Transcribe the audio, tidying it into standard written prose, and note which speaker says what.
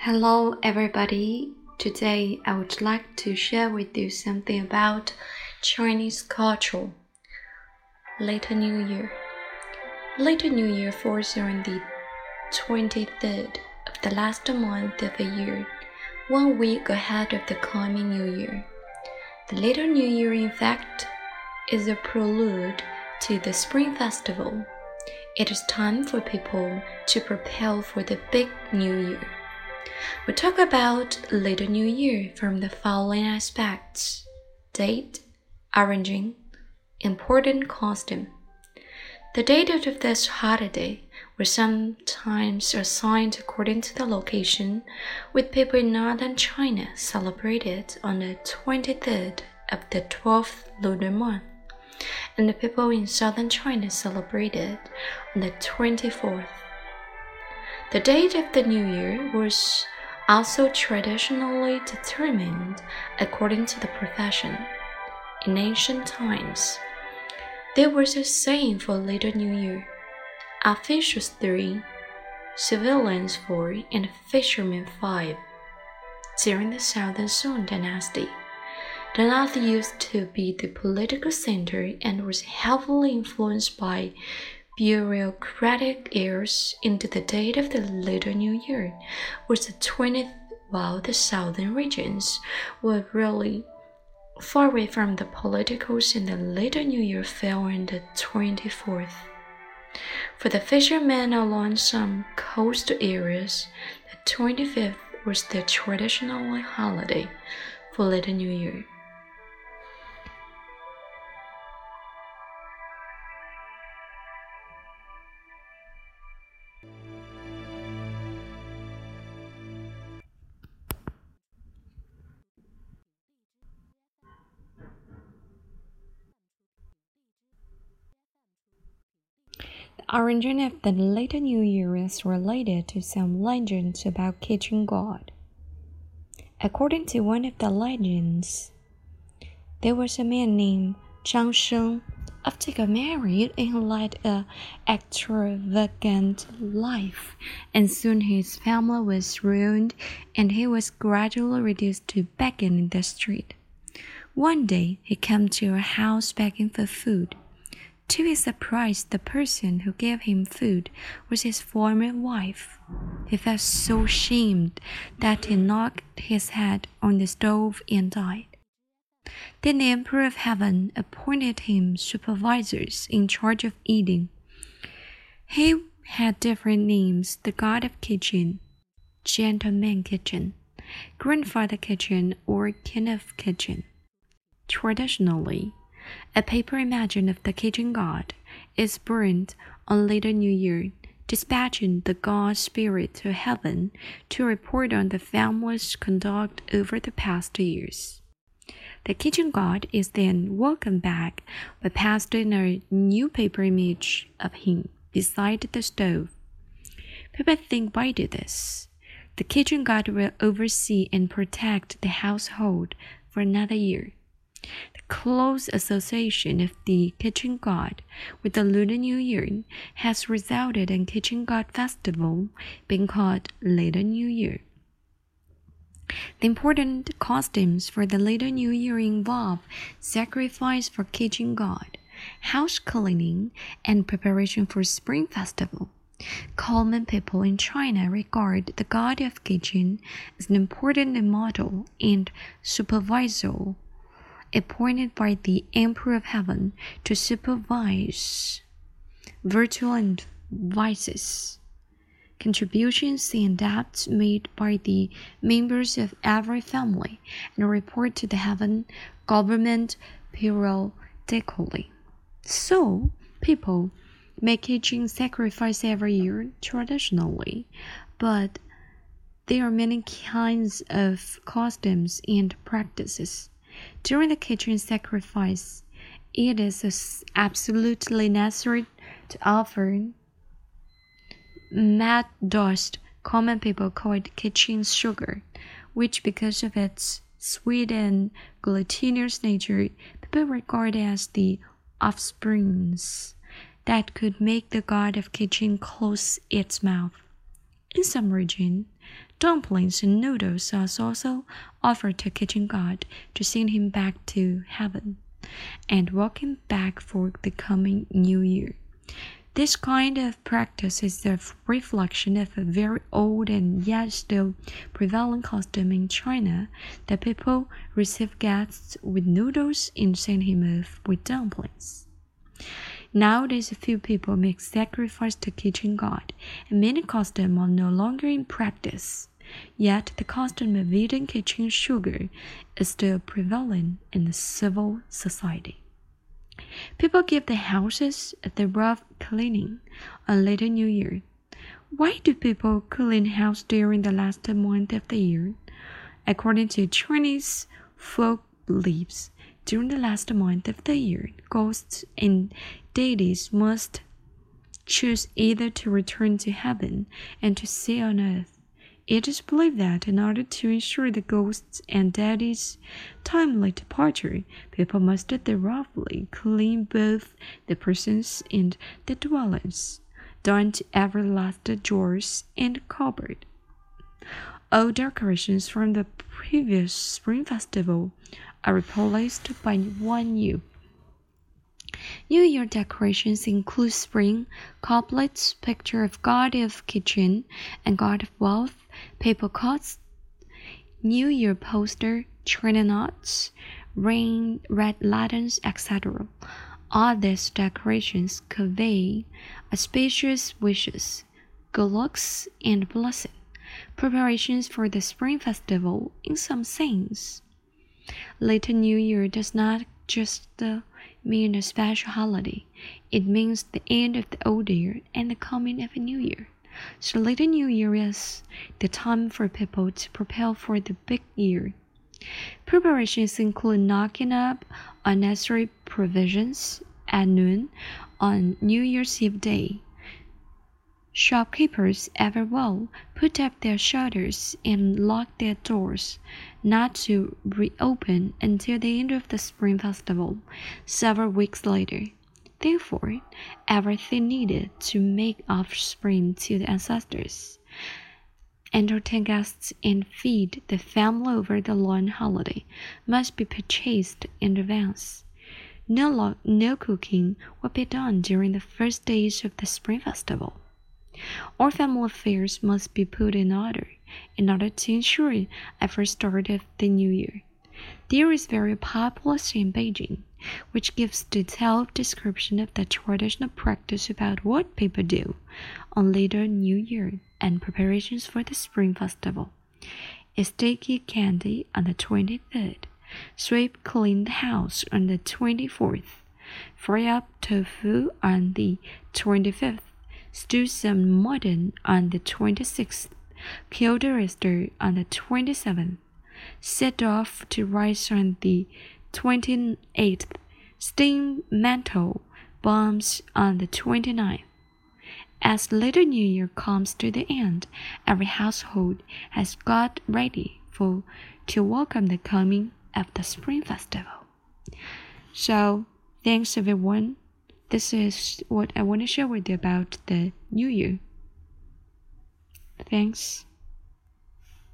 Speaker 1: Hello everybody. Today I would like to share with you something about Chinese culture. Later New Year. Later New Year falls on the 23rd of the last month of the year, 1 week ahead of the coming New Year. The Later New Year, in fact, is a prelude to the Spring Festival. It is time for people to prepare for the big New Year. We talk about Later New Year from the following aspects: date, origin, important custom. The date of this holiday was sometimes assigned according to the location, with people in northern China celebrated on the 23rd of the 12th lunar month, and the people in southern China celebrated on the 24th. The date of the New Year was also traditionally determined according to the profession. In ancient times, there was a saying for Later New Year: officials 3, civilians 4, and fishermen 5. During the Southern Song dynasty, the north used to be the political center and was heavily influenced by bureaucratic heirs. Into the date of the Later New Year was the 20th, while the southern regions were really far away from the politicals, and the Later New Year fell on the 24th. For the fishermen along some coastal areas, the 25th was the traditional holiday for Later New Year. The origin of the Later New Year is related to some legends about kitchen god. According to one of the legends, there was a man named Zhang Sheng. After he got married, he led an extravagant life, and soon his family was ruined, and he was gradually reduced to begging in the street. One day, he came to a house begging for food. To his surprise, the person who gave him food was his former wife. He felt so ashamed that he knocked his head on the stove and died. Then the Emperor of Heaven appointed him supervisors in charge of eating. He had different names: the God of Kitchen, Gentleman Kitchen, Grandfather Kitchen, or King of Kitchen. Traditionally, a paper image of the kitchen god is burned on Later New Year, dispatching the god spirit to heaven to report on the family's conduct over the past years. The kitchen god is then welcomed back by pasting a new paper image of him beside the stove. People think by this, the kitchen god will oversee and protect the household for another year. The close association of the kitchen god with the Lunar New Year has resulted in Kitchen God Festival being called Later New Year. The important costumes for the Later New Year involve sacrifice for kitchen god, house cleaning, and preparation for Spring Festival. Common people in China regard the god of kitchen as an important model and supervisor appointed by the Emperor of Heaven to supervise virtue and vices, contributions and debts made by the members of every family, and report to the heaven government periodically. So, people make kitchen sacrifice every year traditionally, but there are many kinds of customs and practices. During the kitchen sacrifice, it is absolutely necessary to offer mad dust. Common people call it kitchen sugar, which, because of its sweet and glutinous nature, people regard as the offsprings that could make the god of kitchen close its mouth. In some regions, Dumplings and noodles are also offered to kitchen god to send him back to heaven and welcome back for the coming new year. This kind of practice is a reflection of a very old and yet still prevalent custom in China that people receive guests with noodles and send him off with dumplings. Nowadays, a few people make sacrifice to kitchen god, and many customs are no longer in practice. Yet, the custom of eating kitchen sugar is still prevalent in the civil society. People give their houses a thorough cleaning on later New Year. Why do people clean house during the last month of the year? According to Chinese folk beliefs, during the last month of the year, ghosts and deities must choose either to return to heaven and to stay on earth. It is believed that in order to ensure the ghosts and deities' timely departure, people must thoroughly clean both the persons and the dwellings, down to every last drawers and cupboard. All decorations from the previous Spring Festival are replaced by one new. New Year decorations include spring couplets, picture of God of kitchen and God of wealth, paper cuts, New Year poster, China nuts, rain, red lanterns, etc. All these decorations convey auspicious wishes, good looks, and blessing, preparations for the Spring Festival in some sense. Later New Year does not just mean a special holiday. It means the end of the old year and the coming of a new year. So later New Year is the time for people to prepare for the big year. Preparations include knocking up unnecessary provisions at noon on New Year's Eve day. Shopkeepers everywhere put up their shutters and lock their doors, not to reopen until the end of the Spring Festival, several weeks later. Therefore, everything needed to make offspring to the ancestors, entertain guests, and feed the family over the long holiday must be purchased in advance. No cooking will be done during the first days of the Spring Festival. All family affairs must be put in order to ensure a first start of the new year. There is very popular in Beijing, which gives detailed description of the traditional practice about what people do on later New Year and preparations for the Spring Festival. Is sticky candy on the 23rd, sweep clean the house on the 24th, fry up tofu on the 25th, stew some mutton on the 26th, kill the rooster on the 27th, set off to rise on the 28th, steam mantle bombs on the 29th. As later New Year comes to the end, every household has got ready to welcome the coming of the Spring Festival. So, thanks everyone. This is what I want to share with you about the New Year. Thanks.